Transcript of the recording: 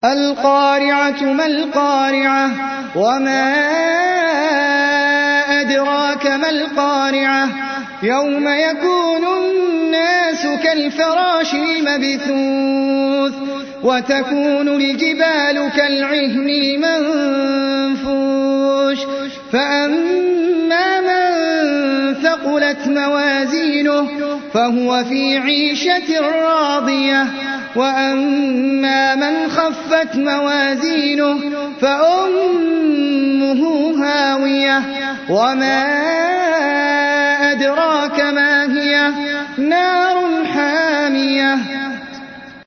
القارعة ما القارعة وما أدراك ما القارعة يوم يكون الناس كالفراش المبثوث وتكون الجبال كالعهن المنفوش فأما من ثقلت موازينه فهو في عيشة راضية وأما من خفت موازينه فأمه هاوية وما أدراك ما هي نار